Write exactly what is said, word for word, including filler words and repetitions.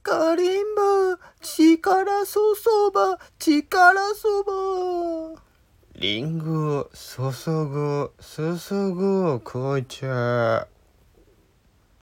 カリンバ、力そそば、力そば。リンゴ、注ぐ、注ぐ、紅茶。